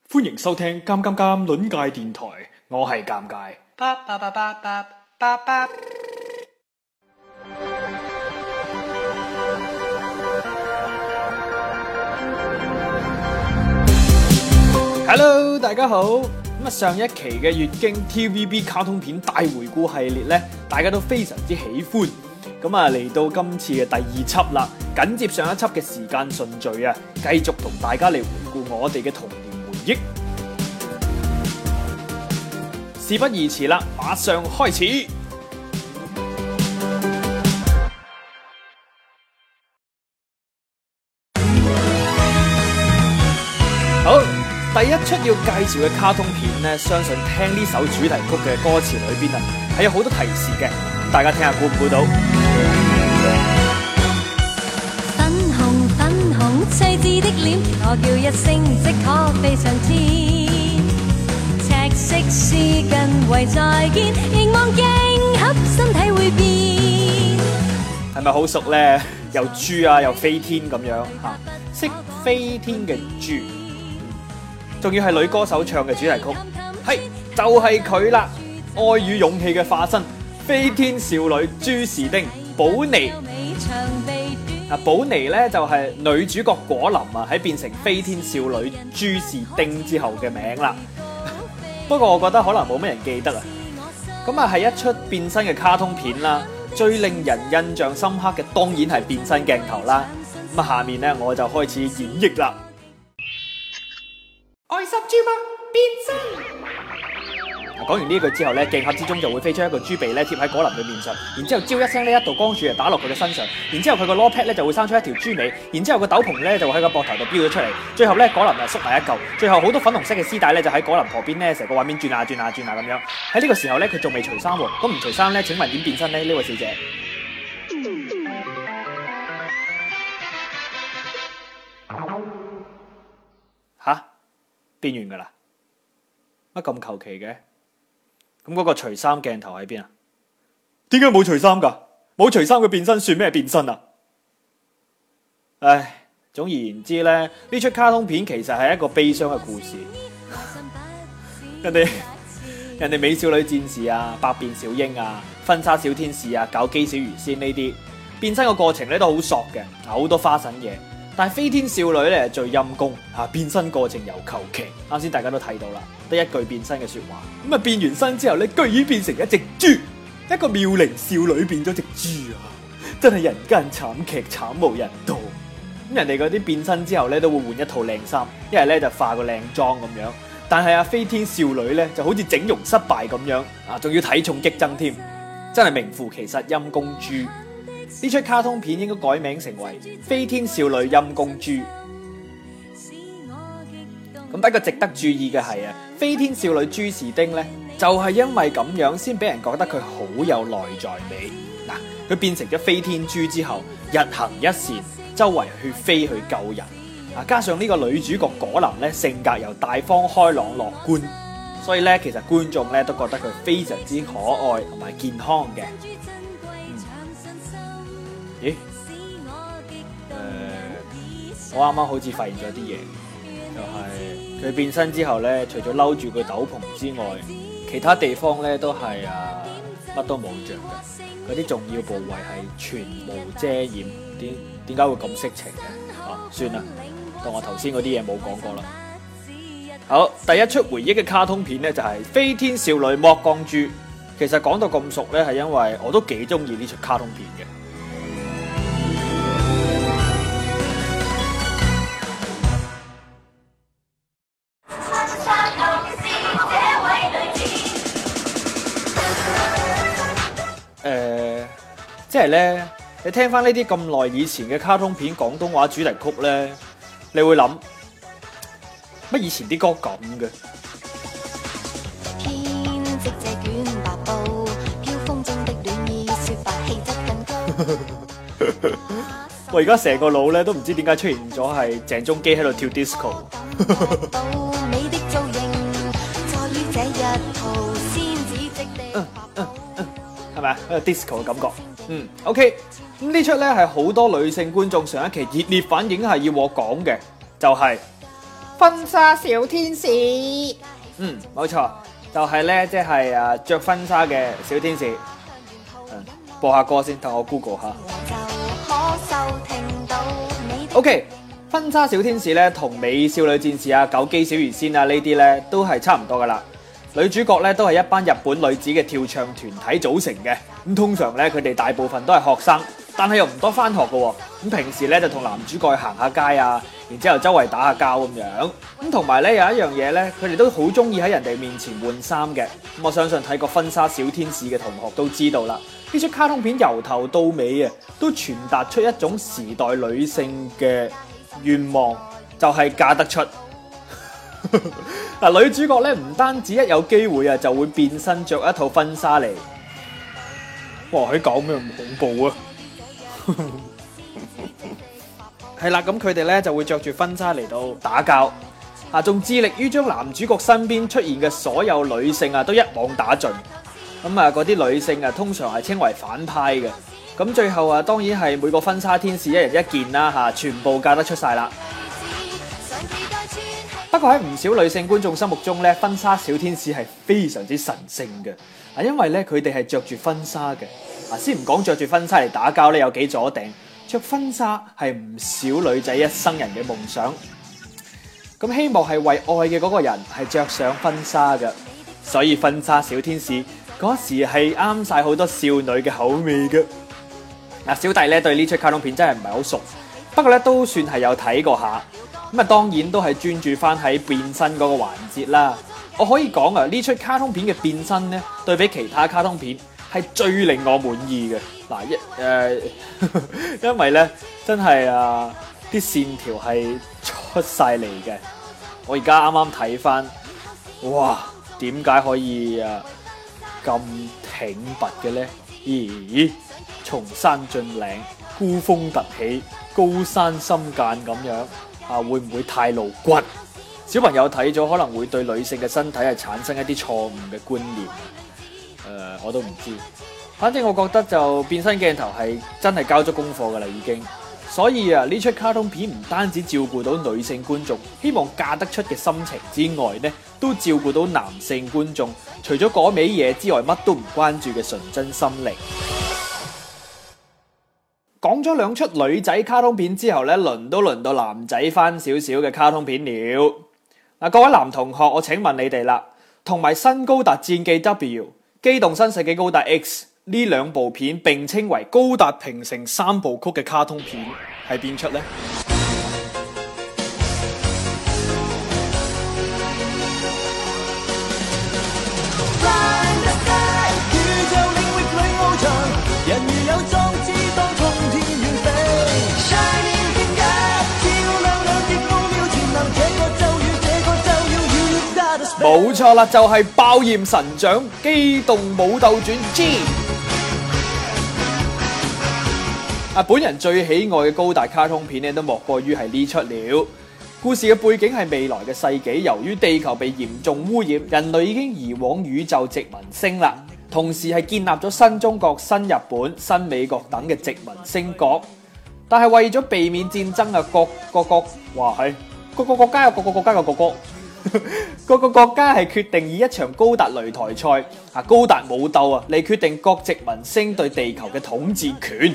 歡迎收聽《尷尷尷》論界電台，我係尷尬。Hello， 大家好。上一期嘅月經 TVB 卡通片大回顧系列咧，大家都非常之喜歡。嚟到今次嘅第二輯啦，緊接上一輯嘅時間順序啊，繼續同大家嚟回顧我哋嘅童年回憶。事不宜遲啦，馬上開始。好，第一出要介紹嘅卡通片呢，相信聽呢首主題曲嘅歌詞裏邊啊，係有好多提示嘅，大家聽下估唔估到？ 粉紅粉紅趣致的臉，我叫一聲即可飛上天。赤色絲巾為再見，凝望鏡盒身體會變。 係咪好熟呢？又豬啊，又飛天咁樣嚇，識飛天嘅豬。仲要係女歌手唱嘅主題曲，係就係佢啦！愛與勇氣嘅化身，飛天少女朱士丁寶妮。寶妮咧就係女主角果林啊，喺變成飛天少女朱士丁之後嘅名啦。不過我覺得可能冇乜人記得啊。係一出變身嘅卡通片啦，最令人印象深刻嘅當然係變身鏡頭啦。下面咧我就開始演繹啦。愛心豬嗎？變身！講完呢句之後咧，鏡盒之中就會飛出一個豬鼻咧，貼喺果林嘅面上，然之後招一聲呢，一道光柱就打落佢嘅身上，然之後佢個攞 pad 咧就會生出一條豬尾，然之後個斗篷咧就會喺個膊頭度飆咗出嚟，最後咧果林就縮埋一嚿，最後好多粉紅色嘅絲帶咧就喺果林旁邊咧成個畫面轉下轉下轉下咁樣。喺呢個時候咧佢仲未除衫喎，咁唔除衫咧，請問點變身咧？呢位小姐？吓？變完噶啦，乜咁求其嘅？咁嗰個除衫鏡頭喺邊啊？點解冇除衫噶？冇除衫嘅變身算咩變身啊？唉，總而言之咧，呢出卡通片其實係一個悲傷嘅故事。人哋美少女戰士啊、百變小櫻啊、婚紗小天使啊、搞基小魚仙呢啲變身嘅過程咧都好索嘅，好多花神嘢。但係飛天少女咧最陰功嚇，變身過程又求其。啱先大家都睇到啦，得一句變身嘅説話。變完身之後咧，居然變成一隻豬，一個妙齡少女變咗隻豬啊！真係人間慘劇，慘無人道。人哋嗰啲變身之後咧都會換一套靚衫，一係咧就化個靚妝咁樣。但係飛天少女咧就好似整容失敗咁樣啊，仲要體重激增添，真係名副其實陰公豬。呢出卡通片應該改名成為《飛天少女陰公豬》。不過值得注意嘅係飛天少女朱士丁呢，就係因為咁樣先俾人覺得佢好有內在美。佢變成咗飛天豬之後，日行一善，周圍去飛去救人。加上呢個女主角果林呢，性格又大方開朗樂觀，所以呢，其實觀眾呢都覺得佢非常之可愛同埋健康嘅。咦？我啱啱好似發現咗啲嘢，就係佢變身之後咧，除咗嬲住個斗篷之外，其他地方咧都係乜都冇着嘅，嗰啲重要部位係全無遮掩。點解會咁色情嘅？算啦，當我頭先嗰啲嘢冇講過啦。好，第一出回憶嘅卡通片咧就係《飛天少女剝光豬》。其實講到咁熟咧，係因為我都幾中意呢出卡通片嘅。即係咧，你聽翻呢啲咁耐以前嘅卡通片廣東話主題曲咧，你會諗乜以前啲歌咁嘅？我而家成個腦咧都唔知點解出現咗係鄭中基喺度跳 disco。係咪啊？有 disco 嘅感覺。OK。咁呢出咧係好多女性觀眾上一期熱烈反應係要我講嘅，就係婚紗小天使。冇錯，就係咧，即係着婚紗嘅小天使。播下歌先，等我 Google 下。OK， 婚紗小天使咧同美少女戰士啊、九姬小魚仙啊呢啲咧都係差唔多噶啦。女主角咧都係一班日本女子嘅跳唱團體組成嘅。咁通常咧佢哋大部分都係學生，但係又唔多翻學噶。咁平時咧就同男主角去行下街啊，然之後周圍打下交咁樣。咁同埋咧有一樣嘢咧，佢哋都好中意喺人哋面前換衫嘅。咁我相信睇過婚紗小天使嘅同學都知道啦。呢出卡通片由頭到尾啊，都傳達出一種時代女性嘅願望，就係嫁得出。嗱，女主角咧唔單止一有機會啊，就會變身着一套婚紗嚟。哇！佢講咩咁恐怖啊？係啦，咁佢哋咧就會着住婚紗嚟到打交，仲致力於將男主角身邊出現嘅所有女性啊，都一網打盡。咁嗰啲女性啊，通常係稱為反派嘅。咁最後啊，當然係每個婚紗天使一人一件啦，全部嫁得出晒啦。不過喺唔少女性觀眾心目中咧，婚紗小天使係非常之神聖嘅。因為咧佢哋係着住婚紗嘅。先唔講着住婚紗嚟打交咧有幾阻頂，着婚紗係唔少女仔一生人嘅夢想。咁希望係為愛嘅嗰個人係着上婚紗嘅，所以婚紗小天使嗰時係啱晒好多少女嘅口味嘅。小弟咧對呢出卡通片真係唔係好熟，不過咧都算係有睇過下。咁當然都係專注翻喺變身嗰個環節啦。我可以講呢出卡通片嘅變身咧，對比其他卡通片係最令我滿意嘅。因為咧真係啲線條係出晒嚟嘅。我而家啱啱睇翻，哇！點解可以咁挺拔嘅咧？咦，崇山峻嶺，孤峰突起，高山深澗咁樣會唔會太露骨？小朋友睇咗可能會對女性嘅身體係產生一啲錯誤嘅觀念。我都唔知，反正我覺得就變身鏡頭係真係交足功課噶啦已經。所以呢出卡通片唔單止照顧到女性觀眾希望嫁得出嘅心情之外呢，都照顧到男性觀眾除咗嗰味嘢之外乜都唔關注嘅純真心靈。講咗兩出女仔卡通片之後呢，輪到男仔翻少少嘅卡通片了。各位男同學，我請問你哋啦，同埋新高達戰記 W、機動新世紀高達 X 呢兩部片並稱為高達平成三部曲嘅卡通片係邊出呢？冇錯啦，就係爆炎神掌機動武鬥傳 G。本人最喜愛嘅高達卡通片咧，都莫過於係呢出了。故事嘅背景係未來嘅世紀，由於地球被嚴重污染，人類已經移往宇宙殖民星啦。同時係建立咗新中國、新日本、新美國等嘅殖民星國。但係為咗避免戰爭啊，各個國家有各個國家嘅國歌。各個國家係決定以一場高達擂台賽高達武鬥嚟決定各殖民星對地球嘅統治權。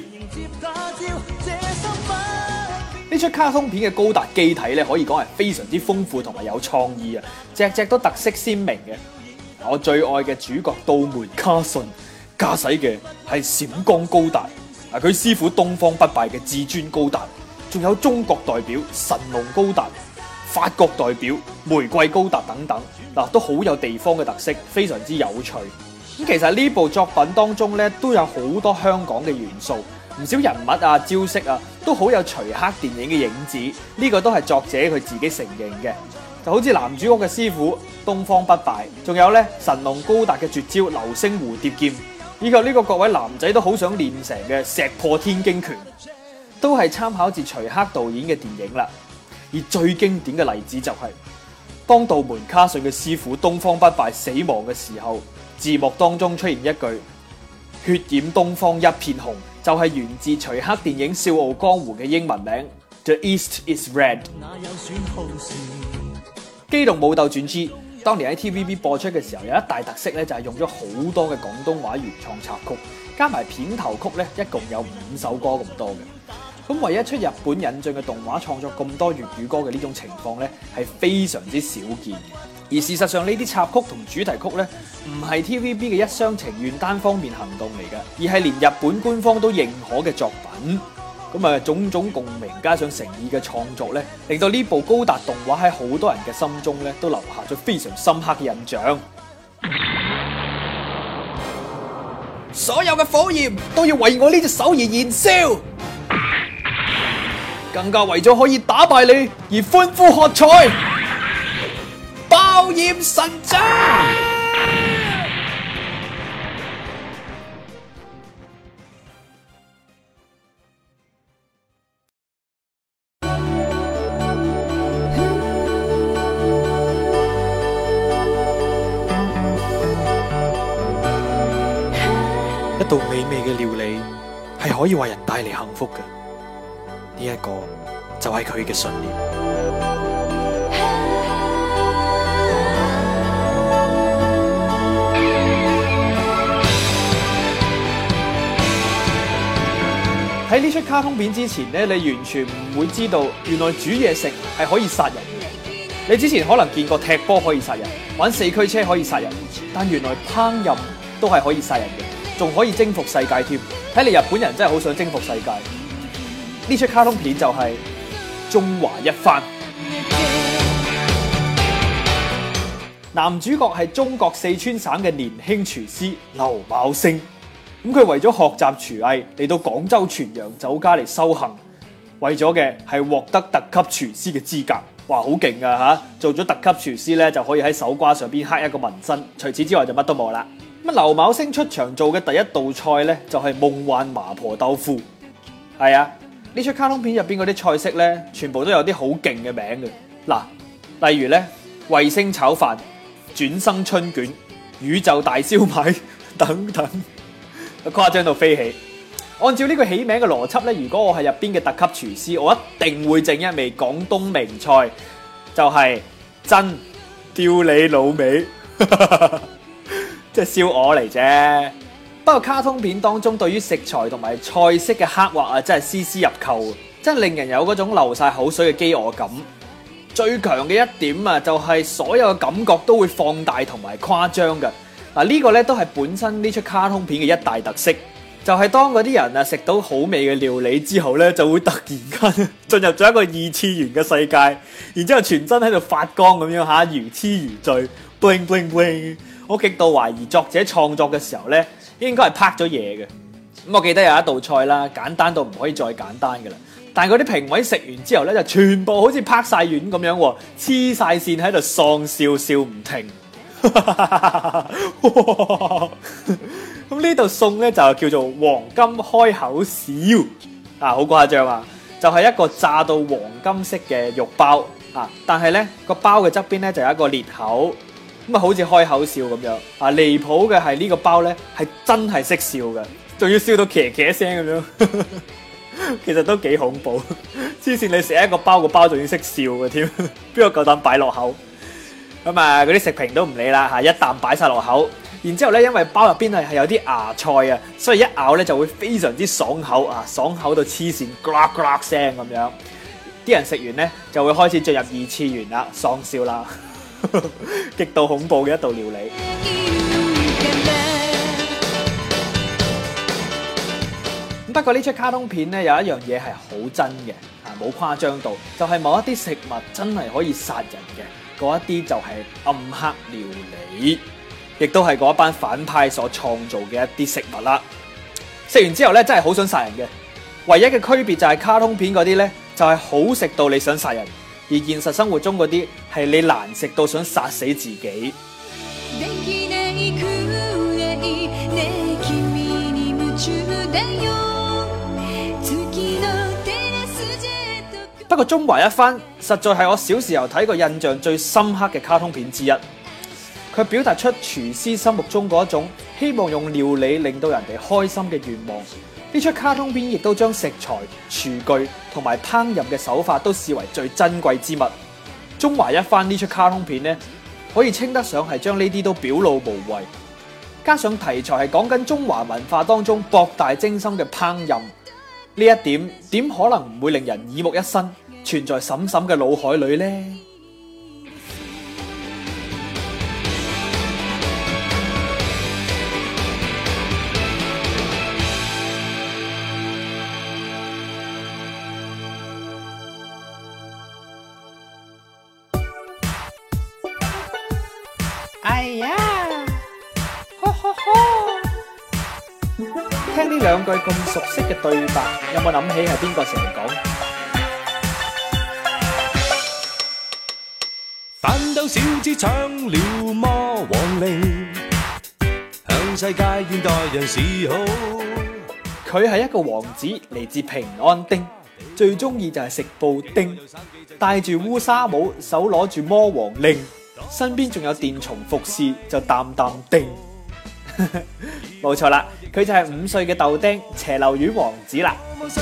呢出卡通片嘅高達機體咧，可以講係非常之豐富同埋有創意隻隻都特色鮮明嘅。我最愛嘅主角道門卡遜駕駛嘅係閃光高達，佢師傅東方不敗嘅至尊高達，仲有中國代表神龍高達、法國代表玫瑰高達等等，都好有地方嘅特色，非常之有趣。咁其實呢部作品當中咧，都有好多香港嘅元素，唔少人物招式都好有徐克電影嘅影子，呢個都係作者佢自己承認嘅。就好似男主角嘅師傅東方不敗，仲有咧神龍高達嘅絕招流星蝴蝶劍，以及呢個各位男仔都好想練成嘅石破天驚拳，都係參考自徐克導演嘅電影啦。而最經典嘅例子就係當道門卡遜嘅師傅東方不敗死亡嘅時候，字幕當中出現一句血染東方一片紅，就係源自徐克電影《笑傲江湖》嘅英文名 The East is Red。 機動武鬥傳 G 當年喺 TVB 播出嘅時候，有一大特色咧，就係用咗好多嘅廣東話原創插曲，加埋片頭曲咧，一共有5首歌咁多嘅。咁唯一出日本引進嘅動畫創作咁多粵語歌嘅呢種情況咧，係非常之少見嘅。而事實上呢啲插曲同主題曲咧，唔係 TVB 嘅一廂情願單方面行動嚟嘅，而係連日本官方都認可嘅作品。咁啊，種種共鳴加上誠意嘅創作咧，令到呢部高達動畫喺好多人嘅心中咧，都留下咗非常深刻嘅印象。所有嘅火焰都要為我呢隻手而燃燒，更加為咗可以打敗你而歡呼喝彩，爆焰神掌！一道美味嘅料理係可以為人帶嚟幸福嘅，呢一個就係佢嘅信念。喺呢出卡通片之前咧，你完全唔會知道原來煮嘢食係可以殺人嘅。你之前可能見過踢波可以殺人，玩四驅車可以殺人，但原來烹飪都係可以殺人嘅。仲可以征服世界添，睇嚟日本人真係好想征服世界。呢出卡通片就係中華一番。男主角係中國四川省嘅年輕廚師劉昴星，咁佢為咗學習廚藝嚟到廣州全羊酒家嚟修行，為咗嘅係獲得特級廚師嘅資格。哇，好勁啊吓！做咗特級廚師咧，就可以喺手瓜上邊刻一個紋身，除此之外就乜都冇啦。咁劉昴星出場做嘅第一道菜咧，就係夢幻麻婆豆腐。係啊，呢出卡通片入邊嗰啲菜式咧，全部都有啲好勁嘅名嘅。嗱，例如咧衛星炒飯、轉生春卷、宇宙大燒賣等等，誇張到飛起。按照呢個起名嘅邏輯咧，如果我係入邊嘅特級廚師，我一定會整一味廣東名菜，就係真吊你老味。即係燒鵝嚟啫，不過卡通片當中對於食材同埋菜式嘅刻畫啊，真係絲絲入扣，真係令人有嗰種流晒口水嘅飢餓感。最強嘅一點啊，就係所有嘅感覺都會放大同埋誇張嘅。嗱，呢個咧都係本身呢出卡通片嘅一大特色，就係當嗰啲人啊食到好味嘅料理之後咧，就會突然間進入咗一個二次元嘅世界，然之後全身喺度發光咁樣吓，如痴如醉 ，bling bling bling。我極度懷疑作者創作嘅時候咧，應該係拍咗嘢嘅。咁我記得有一道菜啦，簡單到唔可以再簡單嘅啦。但係嗰啲評委食完之後咧，就全部好似拍晒丸咁樣，黐晒線喺度喪笑笑唔停。咁呢道餸咧就叫做黃金開口笑啊，好誇張啊！就係一個炸到黃金色嘅肉包啊，但係咧個包嘅側邊咧就有一個裂口。咁啊，好似開口笑咁樣啊！離譜嘅係呢個包咧，係真係識笑嘅，仲要笑到茄茄聲咁樣，其實都幾恐怖。黐線，你食一個包，個包仲要識笑嘅添，邊個夠膽擺落口？咁啊，嗰啲食評都唔理啦嚇，一啖擺晒落口。然之後咧，因為包入邊係有啲芽菜啊，所以一咬咧就會非常之爽口啊，爽口到黐線，呱呱聲咁樣。啲人食完咧就會開始進入二次元啦，喪笑啦。極度恐怖嘅一道料理。不過呢出卡通片咧有一樣嘢係好真嘅，冇誇張到，就係某一啲食物真係可以殺人嘅，嗰一啲就係暗黑料理，亦都係嗰一班反派所創造嘅一啲食物啦。食完之後咧真係好想殺人嘅，唯一嘅區別就係卡通片嗰啲咧就係好食到你想殺人。而現實生活中嗰啲係你難食到想殺死自己。不過中華一番實在係我小時候睇過印象最深刻嘅卡通片之一。佢表達出廚師心目中嗰一種希望用料理令到人哋開心嘅願望。呢出卡通片亦都將食材、廚具同埋烹飪嘅手法都視為最珍貴之物。 中華一番呢出卡通片呢，可以稱得上係將呢啲都表露無遺。加上題材係講緊中華文化當中博大精深嘅烹飪，呢一點點可能唔會令人耳目一新，存在嬸嬸嘅腦海裏呢？哎呀，呵呵呵！聽呢兩句咁熟悉嘅對白，有冇諗起係邊個成日講？ 反斗小子搶了魔王令，向世界現代人示好。 佢係一個王子，嚟自平安丁，最中意就係食布丁，戴住烏紗帽，手攞住魔王令。身邊仲有電蟲服侍，就淡淡定。冇錯啦，佢就係5歲嘅豆丁斜流丸王子啦。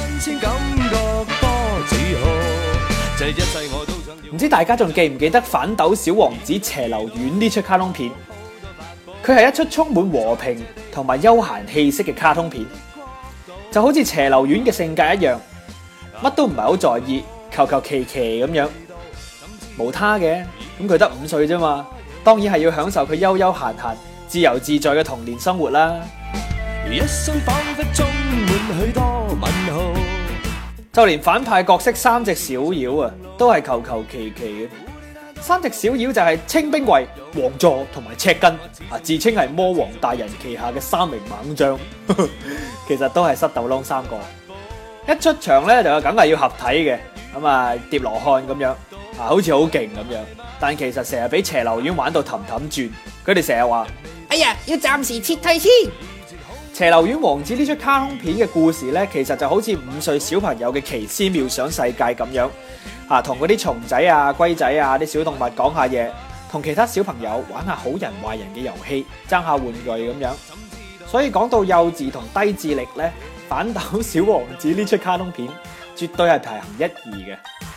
唔知大家仲記唔記得反斗小王子斜流丸呢出卡通片？佢係一出充滿和平同埋悠閒氣息嘅卡通片，就好似斜流丸嘅性格一樣，乜都唔係好在意，求求其其咁樣。無他嘅，咁佢得5歲啫嘛，當然係要享受佢悠悠閒閒、自由自在嘅童年生活啦。一生仿佛充滿許多問號，就連反派角色3隻小妖啊，都係求求其其嘅。3隻小妖就係清兵衛、王座同埋赤根啊，自稱係魔王大人旗下嘅3名猛將，其實都係塞豆窿3個。一出場咧就梗係要合體嘅，咁啊疊羅漢咁樣。好似好勁咁樣，但其實成日俾斜流丸玩到氹氹轉。佢哋成日話：哎呀，要暫時撤退先。斜流丸王子呢出卡通片嘅故事呢，其實就好似5歲小朋友嘅奇思妙想世界咁樣，同嗰啲蟲仔啊、龜仔啊啲小動物講下嘢，同其他小朋友玩下好人壞人嘅遊戲，爭下玩具咁樣。所以講到幼稚同低智力呢，反斗小王子呢出卡通片絕對係排行1、2嘅。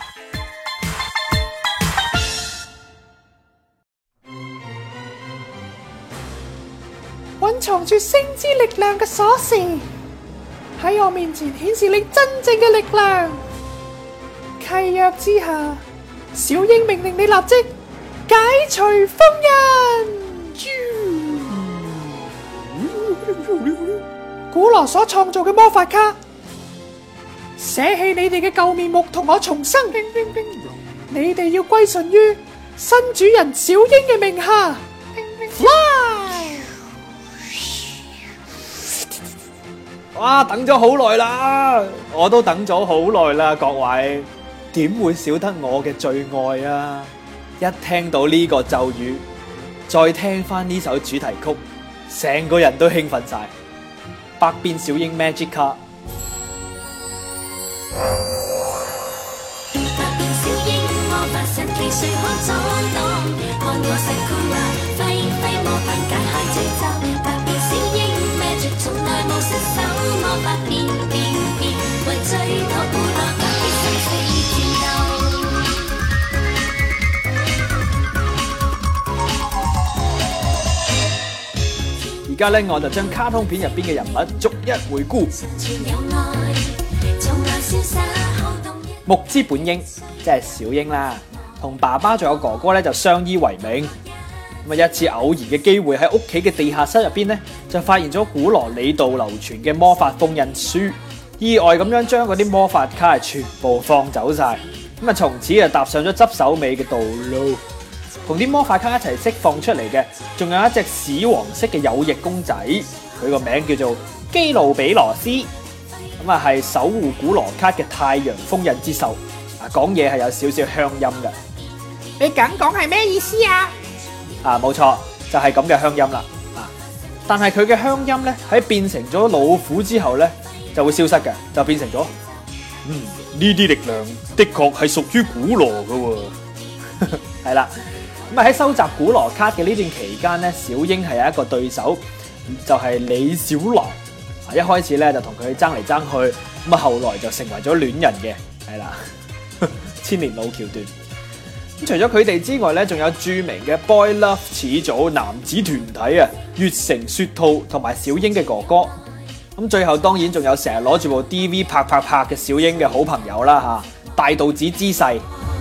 蘊藏住星之力量嘅鎖匙，喺我面前顯示你真正嘅力量。契約之下，小英命令你立即解除封印。古羅所創造嘅魔法卡，捨棄你哋嘅舊面目，同我重生。你哋要歸順於新主人小英嘅名下。Fly！ 哇！等咗好耐啦，我都等咗好耐啦，各位點會少得我嘅最愛啊？一聽到呢個咒語，再聽翻呢首主題曲，成個人都興奮晒。百變小櫻 Magic 卡。而家咧，我就將卡通片入邊嘅人物逐一回顧。木之本櫻即係小櫻啦，同爸爸仲有哥哥咧就相依為命。咁啊，一次偶然嘅機會喺屋企嘅地下室入邊咧，就發現咗古羅里道流傳嘅魔法封印書，意外咁樣將嗰啲魔法卡係全部放走晒。咁啊，從此就踏上咗執手尾嘅道路。同啲魔法卡一齊釋放出嚟嘅，仲有一隻屎黃色嘅有翼公仔，佢個名叫做基路比羅斯，咁啊係守護古羅卡嘅太陽封印之獸，講嘢係有少少鄉音嘅。 你咁講係咩意思啊？ 冇錯，就係咁嘅鄉音啦。但係佢嘅鄉音咧喺變成咗老虎之後咧就會消失嘅，就變成咗呢啲力量的確係屬於古羅嘅喎。係啦。咁喺收集古羅卡嘅呢段期間咧，小櫻係有一個對手，就係李小狼。一開始咧就同佢爭嚟爭去，咁啊後來就成為咗戀人嘅，係啦，千年老橋段。 除咗佢哋之外咧，仲有著名嘅 Boy Love 始祖男子團體啊，月城雪兔同埋小英嘅哥哥。咁最後當然仲有成日攞住部 DV 拍嘅小英嘅好朋友啦嚇，大道子姿勢。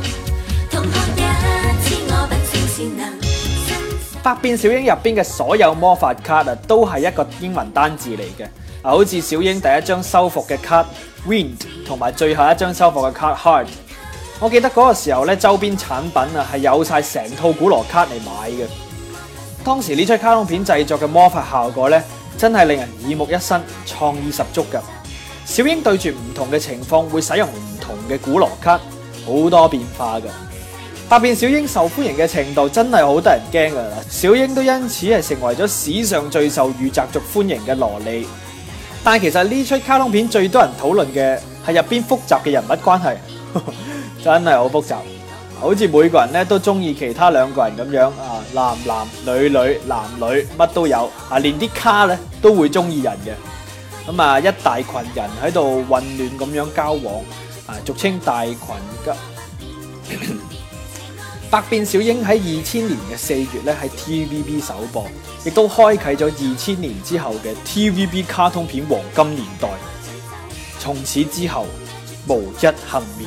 百變小櫻入邊嘅所有魔法卡啊，都係一個英文單字嚟嘅。好似小櫻第一張修復嘅卡 Wind 同埋最後一張修復嘅卡 Heart。我記得嗰個時候咧，周邊產品啊係有晒成套古羅卡嚟買嘅。當時呢出卡通片製作嘅魔法效果咧，真係令人耳目一新，創意十足㗎。小櫻對住唔同嘅情況會使用唔同嘅古羅卡，好多變化㗎。百變小櫻受歡迎嘅程度真係好得人驚㗎啦！小櫻都因此係成為咗史上最受御宅族歡迎嘅蘿莉。但係其實呢出卡通片最多人討論嘅係入邊複雜嘅人物關係，真係好複雜。好似每個人咧都中意其他兩個人咁樣啊，男男女女男女乜都有啊，連啲卡咧都會中意人嘅。咁啊，一大群人喺度混亂咁樣交往啊，俗稱大群吉。百變小櫻喺2000年嘅4月咧喺 TVB 首播，亦都開啟咗2000年之後嘅 TVB 卡通片黃金年代。從此之後，無一幸免。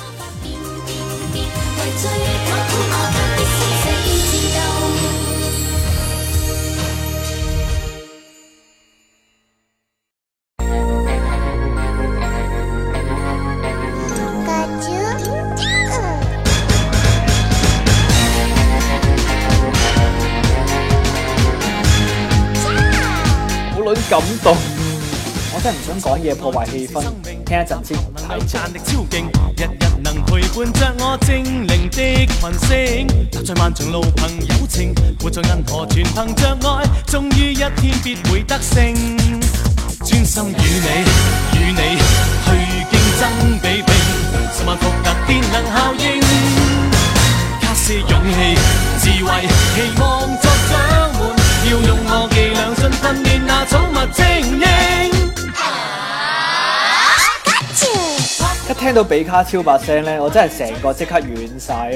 感動，我真係唔想講嘢破壞氣氛，聽一陣先。 賺力超勁，日日能陪伴着我精靈的群星，踏在漫長路憑友情，活在銀河全憑着愛，終於一天必會得勝。專心與你去競爭比拼，10萬伏特電能效應，卡些勇氣智慧，期望作獎門，要用我伎倆盡訓練那寵物精英。 一聽到比卡超把聲咧，我真係成個即刻軟晒。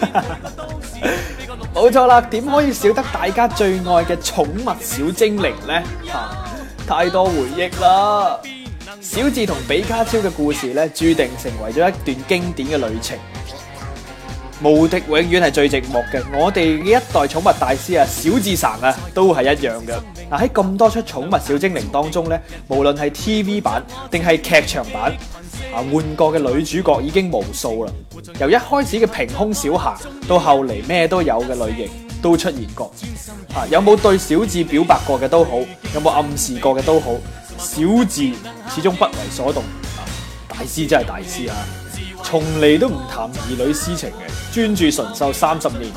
冇錯啦，點可以少得大家最愛嘅寵物小精靈呢？太多回憶啦！小智同比卡超嘅故事咧，注定成為咗一段經典嘅旅程。無敵永遠係最寂寞嘅，我哋嘅一代寵物大師啊，小智神啊，都係一樣嘅。喺咁多出寵物小精靈當中咧，無論係 TV 版定係劇場版，換過嘅女主角已經無數啦。由一開始嘅平胸小霞，到後嚟咩都有嘅類型都出現過。有冇對小智表白過嘅都好，有冇暗示過嘅都好，小智始終不為所動。大師真係大師啊！從嚟都唔談兒女私情嘅，專注純秀30年。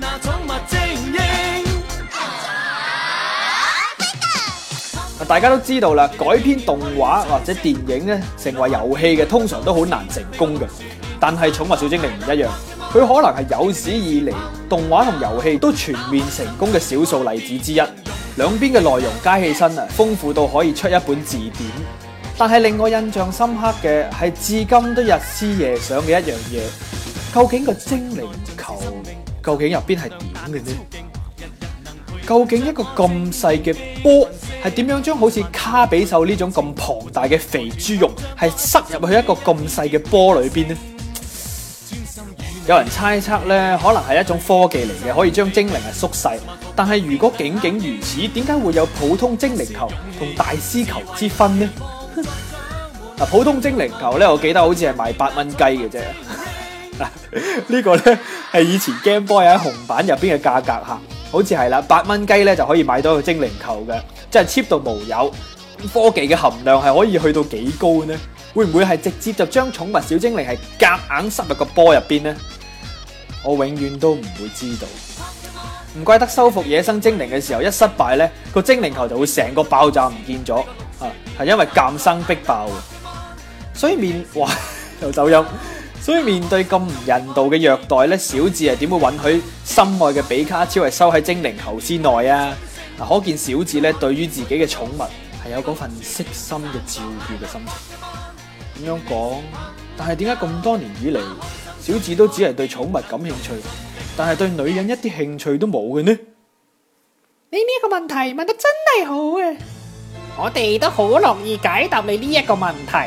大家都知道啦，改編動畫或者電影咧，成為遊戲嘅通常都好難成功嘅。但係寵物小精靈唔一樣，佢可能係有史以嚟動畫同遊戲都全面成功嘅少數例子之一。兩邊嘅內容加起身啊，豐富到可以出一本字典。但係令我印象深刻嘅係至今都日思夜想嘅一樣嘢，究竟個精靈球究竟入邊係點嘅呢？究竟一個咁細嘅波係點樣將好似卡比獸呢種咁龐大嘅肥豬肉係塞入去一個咁細嘅波裏邊呢？有人猜測咧，可能係一種科技嚟嘅，可以將精靈係縮細。但係如果僅僅如此，點解會有普通精靈球同大師球之分呢？普通精靈球咧，我記得好似係賣8蚊雞嘅啫。呢個咧係以前 Game Boy 喺紅版入邊嘅價格嚇，好似係啦，8蚊雞咧就可以買到個精靈球嘅，即係 cheap 到無有。科技嘅含量係可以去到幾高呢？會唔會係直接就將寵物小精靈係夾硬塞入個波入邊呢？我永遠都唔會知道。唔怪得收復野生精靈嘅時候一失敗咧，個精靈球就會成個爆炸唔見咗啊！係因為監生逼爆。所以又走音。所以面對咁唔人道嘅虐待咧，小智係點會允許心愛嘅比卡超係收喺精靈球之內啊？可見小智咧對於自己嘅寵物係有嗰份悉心嘅照顧嘅心情。咁樣講，但係點解咁多年以嚟， 小智都只係對寵物感興趣，但係對女人一啲興趣都冇嘅呢？ 你呢個問題問得真係好啊！我哋都好樂意解答你呢一個問題。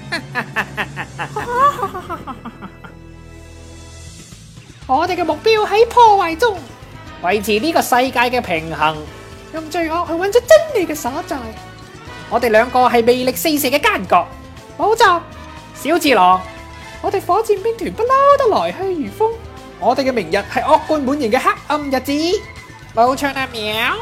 我哋嘅目標喺破壞中維持呢個世界嘅平衡，用罪惡去揾出真理嘅所在。我哋兩個係魅力四射嘅奸角，冇錯，小次郎。我哋火箭兵團不嬲都來去如風。我哋嘅明日係惡貫滿盈嘅黑暗日子。冇錯啊，喵！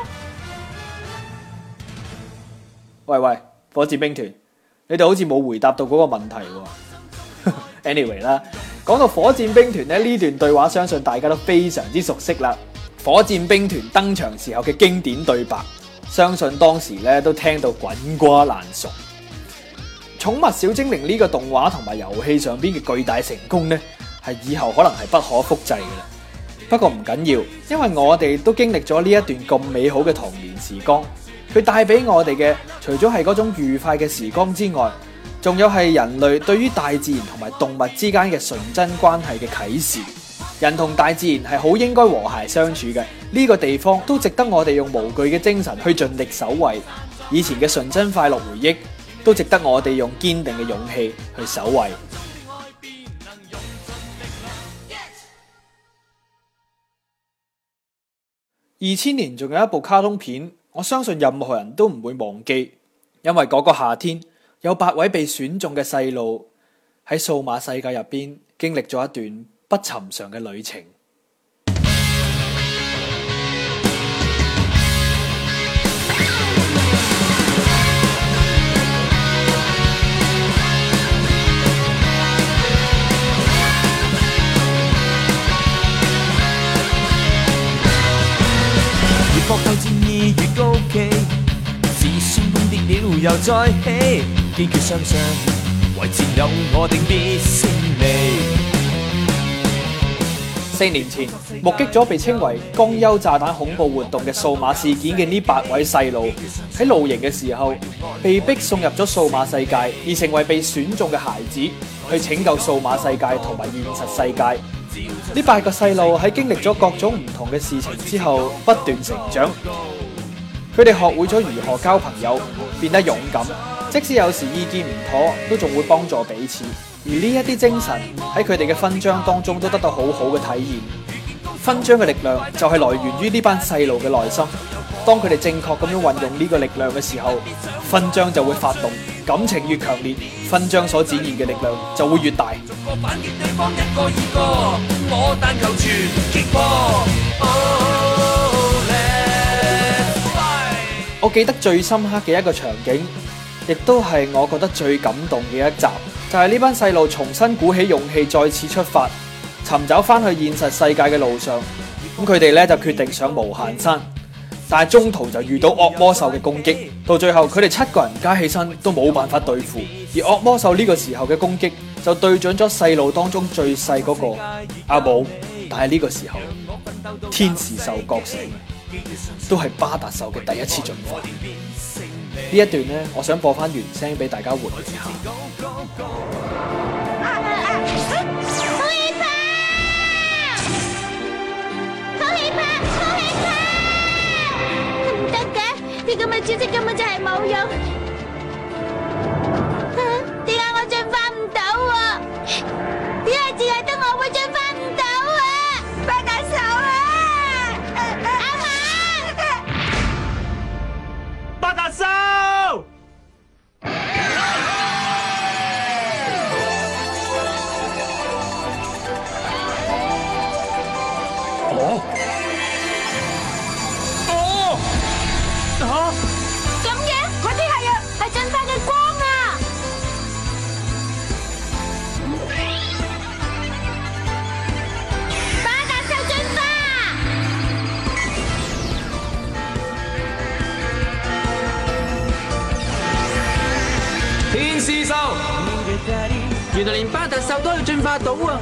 喂，火箭兵團，你哋好似冇回答到嗰個問題喎。Anyway 啦，講到火箭兵團咧，呢段對話相信大家都非常之熟悉啦。火箭兵團登場時候嘅經典對白，相信當時咧都聽到滾瓜爛熟。寵物小精靈呢個動畫同埋遊戲上邊嘅巨大成功呢，係以後可能係不可複製嘅啦。不過唔緊要，因為我哋都經歷咗呢一段咁美好嘅童年時光，佢帶俾我哋嘅除咗係嗰種愉快嘅時光之外，仲有係人類對於大自然同埋動物之間嘅純真關係嘅啟示。人同大自然係好應該和諧相處嘅，呢個地方都值得我哋用無懼嘅精神去盡力守衛。以前嘅純真快樂回憶都值得我哋用堅定嘅勇氣去守衛。2000年仲有一部卡通片，我相信任何人都唔會忘記，因為嗰個夏天有8位被選中嘅細路喺數碼世界入邊經歷咗一段不尋常嘅旅程。 搏鬥戰意越高企，自尊崩跌了又再起，堅決相信為戰友我定必勝利。 4年前，目擊咗被稱為江優炸彈恐怖活動嘅數碼事件嘅呢8位細路，喺露營嘅時候被逼送入咗數碼世界，而成為被選中嘅孩子，去拯救數碼世界同埋現實世界。呢8個細路喺經歷咗各種唔同嘅事情之後，不斷成長。佢哋學會咗如何交朋友，變得勇敢，即使有時意見唔妥，都仲會幫助彼此。而呢一啲精神喺佢哋嘅勳章當中都得到好好嘅體現。勳章嘅力量就係來源於呢班細路嘅內心。當佢哋正確咁樣運用呢個力量嘅時候，勳章就會發動。感情越強烈，勳章所展現嘅力量就會越大。反擊對方一個二個，我但求全擊破。我記得最深刻嘅一個場景，亦都係我覺得最感動嘅一集，就係呢班細路重新鼓起勇氣，再次出發，尋找翻去現實世界嘅路上。咁佢哋咧就決定上無限山。但係中途就遇到惡魔獸嘅攻擊，到最後佢哋7個人加起身都冇辦法對付，而惡魔獸呢個時候嘅攻擊就對準咗細路當中最細嗰個阿武。但係呢個時候天使獸覺醒，都係巴達獸嘅第一次進化。呢一段呢，我想播翻原聲俾大家回味下。 呢咁嘅招式根本就係冇用，點解我進化唔到啊？點解只係得我會進化唔到啊？巴達獸啊！阿嫲， 巴達獸！ 咁嘅，嗰啲係啊，係進化嘅光啊！巴達獸進化！ 天使獸，原來連巴達獸都可以進化到啊！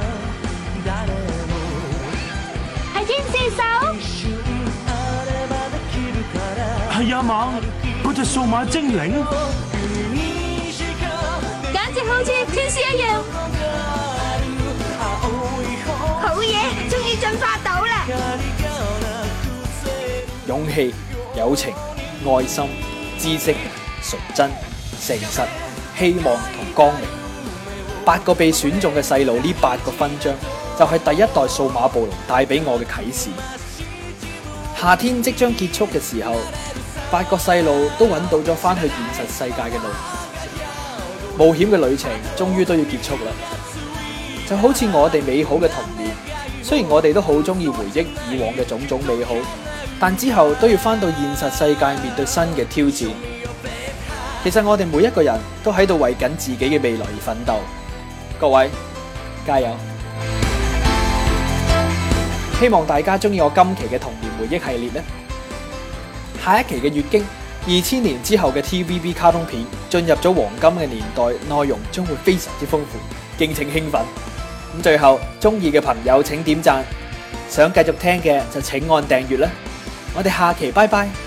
係天使獸？ 係啊嘛，嗰隻數碼精靈， 簡直好似天使一樣。 好嘢，終於進化到啦！ 勇氣、友情、愛心、知識、純真、誠實、希望同光明，8個被選中嘅細路，呢8個勳章就係第一代數碼暴龍帶俾我嘅啟示。夏天即將結束嘅時候，8個細路都揾到咗翻去現實世界嘅路，冒險嘅旅程終於都要結束啦。就好似我哋美好嘅童年，雖然我哋都好中意回憶以往嘅種種美好，但之後都要翻到現實世界面對新嘅挑戰。其實我哋每一個人都喺度為緊自己嘅未來而奮鬥，各位加油！希望大家中意我今期嘅童年回憶系列呢。下一期嘅月經，2000年之後嘅 TVB 卡通片進入咗黃金嘅年代，內容將會非常之豐富，敬請興奮。咁最後，中意嘅朋友請點讚，想繼續聽嘅就請按訂閱啦。我哋下期拜拜。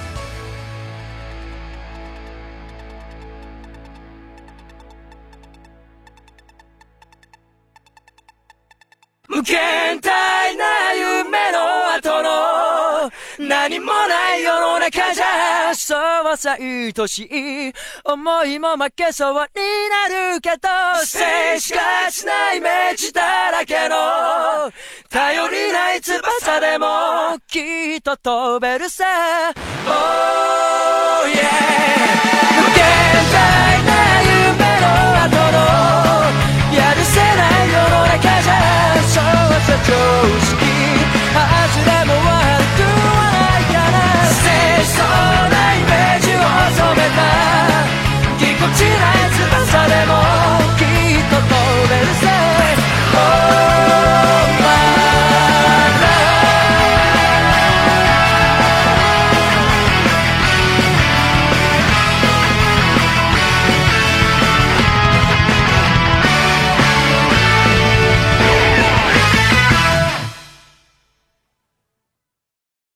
無限大な夢の後の何もない世の中じゃそうさ愛しい思いも負けそうになるけど静しかしないイメージだらけの頼りない翼でもきっと飛べるさ Oh yeah 無限大な夢の後のやるせない世の中じゃそうさ常識外れも